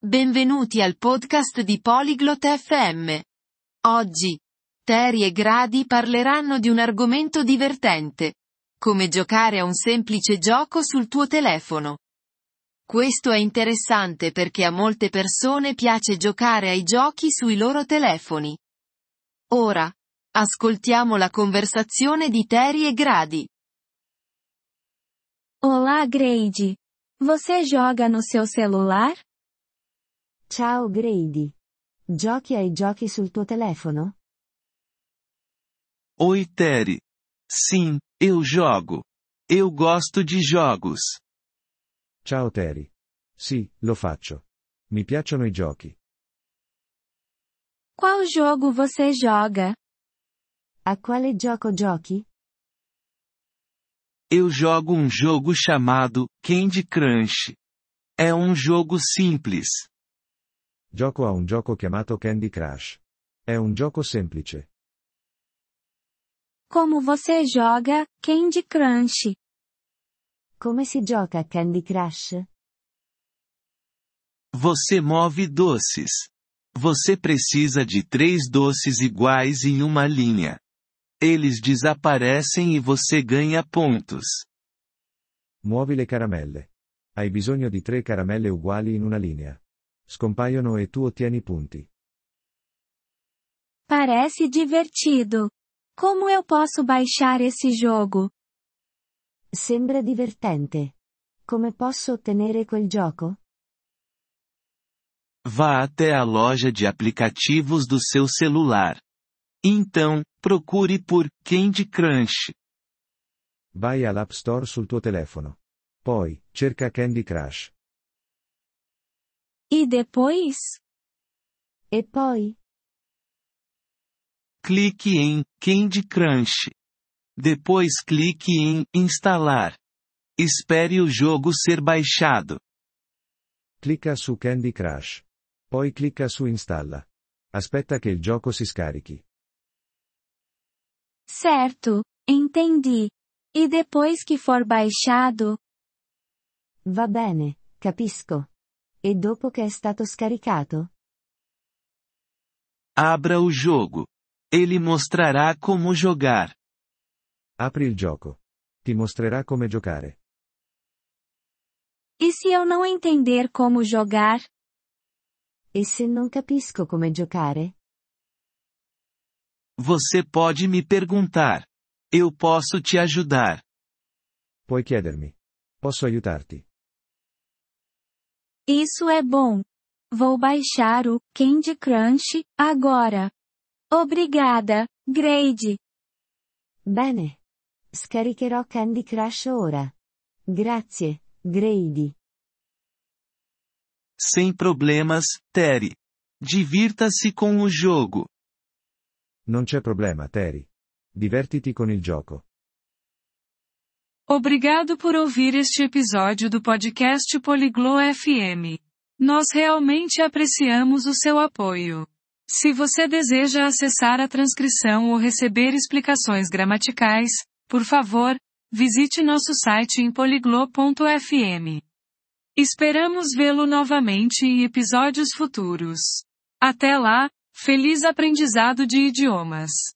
Benvenuti al podcast di Polyglot FM. Oggi, Terry e Grady parleranno di un argomento divertente. Come giocare a un semplice gioco sul tuo telefono. Questo è interessante perché a molte persone piace giocare ai giochi sui loro telefoni. Ora, ascoltiamo la conversazione di Terry e Grady. Olá, Grady. Você joga no seu celular? Ciao Grady. Giochi ai giochi sul tuo telefono? Oi Terry. Sim, eu jogo. Eu gosto de jogos. Ciao Terry. Sì, lo faccio. Mi piacciono i giochi. Qual jogo você joga? A quale gioco giochi? Eu jogo um jogo chamado Candy Crush. É um jogo simples. Gioco a un gioco chiamato Candy Crush. È un gioco semplice. Como você joga Candy Crush? Come si gioca a Candy Crush? Você move doces. Você precisa de 3 doces iguais em uma linha. Eles desaparecem e você ganha pontos. Muovi le caramelle. Hai bisogno di 3 caramelle uguali in una linea. Scompaiono e tu ottieni punti. Parece divertido. Como eu posso baixar esse jogo? Sembra divertente. Come posso ottenere quel gioco? Vá até a loja de aplicativos do seu celular. Então, procure por Candy Crush. Vai all'App Store sul tuo telefono. Poi, cerca Candy Crush. E depois? E poi? Clique em Candy Crush. Depois clique em Instalar. Espere o jogo ser baixado. Clicca su Candy Crush. Poi clicca su Installa. Aspetta che il gioco si scarichi. Certo, entendi. E depois que for baixado? Va bene, capisco. E dopo che è stato scaricato? Abra o jogo. Ele mostrará como jogar. Apri il gioco. Ti mostrerà come giocare. E se eu não entender como jogar? E se non capisco come giocare? Você pode me perguntar. Eu posso te ajudar. Puoi chiedermi. Posso aiutarti? Isso é bom. Vou baixar o Candy Crush agora. Obrigada, Grady. Bene. Scaricherò Candy Crush ora. Grazie, Grady. Sem problemas, Terry. Divirta-se com o jogo. Non c'è problema, Terry. Divertiti con il gioco. Obrigado por ouvir este episódio do podcast Polyglot FM. Nós realmente apreciamos o seu apoio. Se você deseja acessar a transcrição ou receber explicações gramaticais, por favor, visite nosso site em polyglot.fm. Esperamos vê-lo novamente em episódios futuros. Até lá, feliz aprendizado de idiomas!